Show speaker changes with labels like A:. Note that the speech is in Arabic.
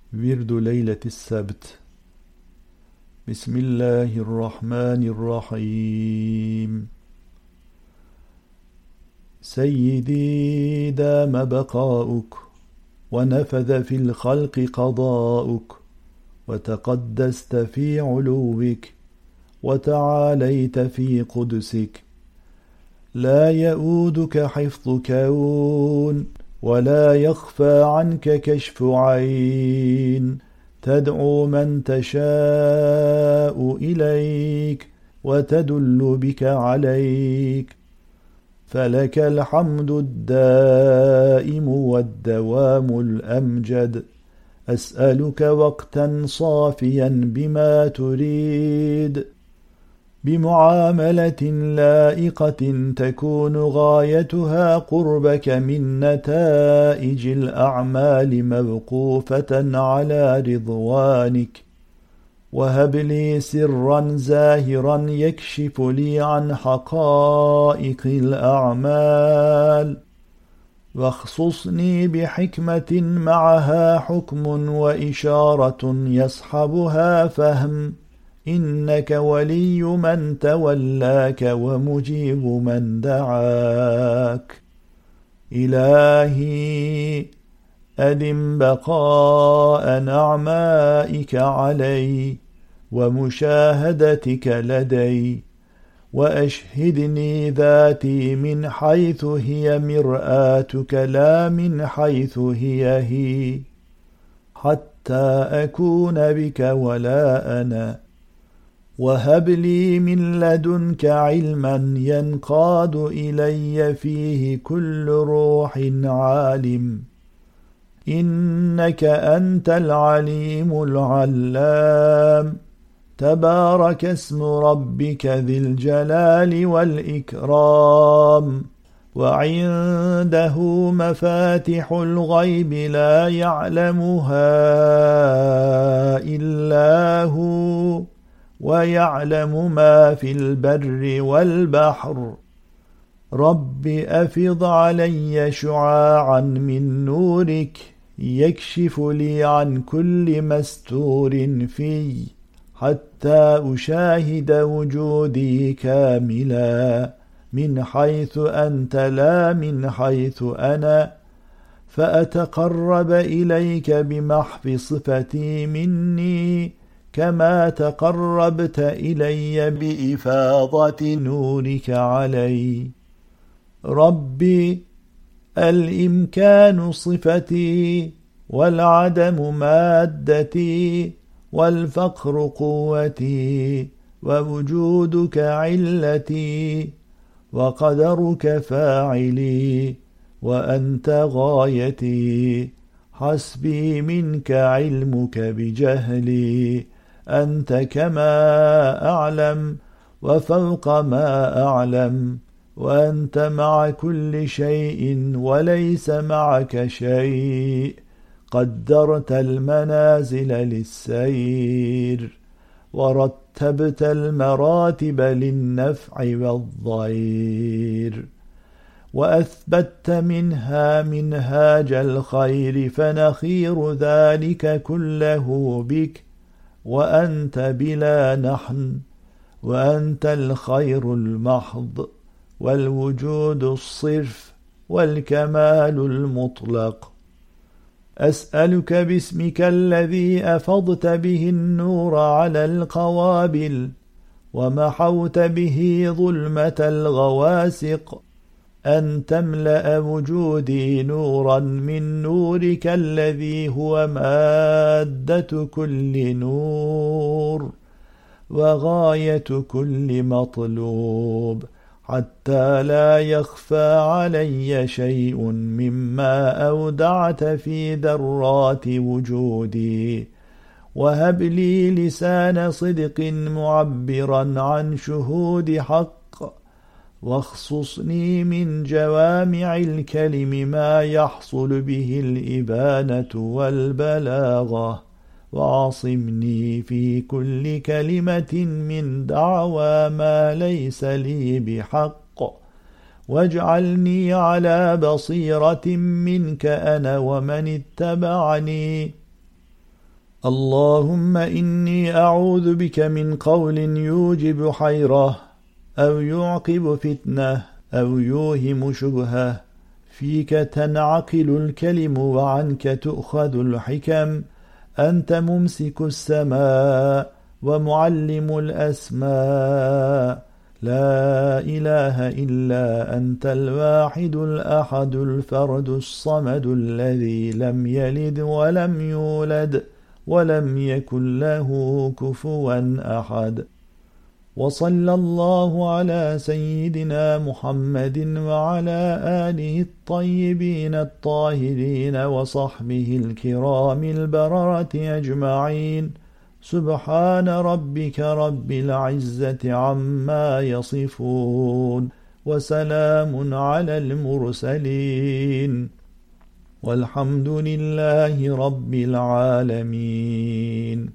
A: ورد ليلة السبت. بسم الله الرحمن الرحيم. سيدي دام بقاؤك، ونفذ في الخلق قضاؤك، وتقدست في علوك، وتعاليت في قدسك. لا يؤودك حفظ كون، ولا يخفى عنك كشف عين. تدعو من تشاء إليك، وتدل بك عليك. فلك الحمد الدائم والدوام الأمجد. أسألك وقتا صافيا بما تريد، بمعاملة لائقة تكون غايتها قربك من نتائج الأعمال موقوفة على رضوانك. وهب لي سرا زاهرا يكشف لي عن حقائق الأعمال، واخصصني بحكمة معها حكم وإشارة يصحبها فهم. إنك ولي من تولاك ومجيب من دعاك. إلهي أدم بقاء نعمائك علي، ومشاهدتك لدي. وأشهدني ذاتي من حيث هي مرآتك، لا من حيث هي، حتى أكون بك ولا أنا. وهب لي من لدنك علما ينقاد إلي فيه كل روح عالم. إنك أنت العليم العلام. تبارك اسم ربك ذي الجلال والإكرام. وعنده مفاتح الغيب لا يعلمها إلا هو، ويعلم ما في البر والبحر. رب أفض علي شعاعا من نورك، يكشف لي عن كل مستور في، حتى أشاهد وجودي كاملا من حيث أنت لا من حيث أنا. فأتقرب إليك بمحو صفتي مني، كما تقربت إلي بإفاضة نورك علي. ربي الإمكان صفتي، والعدم مادتي، والفقر قوتي، ووجودك علتي، وقدرك فاعلي، وأنت غايتي. حسبي منك علمك بجهلي. أنت كما أعلم وفوق ما أعلم. وأنت مع كل شيء وليس معك شيء. قدرت المنازل للسير، ورتبت المراتب للنفع والضير. وأثبت منها منهاج الخير، فنخير ذلك كله بك. وأنت بلا نحن، وأنت الخير المحض، والوجود الصرف، والكمال المطلق. أسألك باسمك الذي أفضت به النور على القوابل، ومحوت به ظلمة الغواسق، أن تملأ وجودي نورا من نورك الذي هو مادة كل نور، وغاية كل مطلوب، حتى لا يخفى علي شيء مما أودعت في ذرات وجودي. وهب لي لسان صدق معبرا عن شهود حق، واخصصني من جوامع الكلم ما يحصل به الإبانة والبلاغة. وعصمني في كل كلمة من دعوى ما ليس لي بحق. واجعلني على بصيرة منك أنا ومن اتبعني. اللهم إني أعوذ بك من قول يوجب حيرة أو يعقب فتنة أو يوهم شبهة، فيك تنعقل الكلم وعنك تؤخذ الحكم، أنت ممسك السماء ومعلم الأسماء، لا إله إلا أنت الواحد الأحد الفرد الصمد الذي لم يلد ولم يولد ولم يكن له كفوا أحد. وصلى الله على سيدنا محمد وعلى آله الطيبين الطاهرين وصحبه الكرام البررة أجمعين. سبحان ربك رب العزة عما يصفون، وسلام على المرسلين، والحمد لله رب العالمين.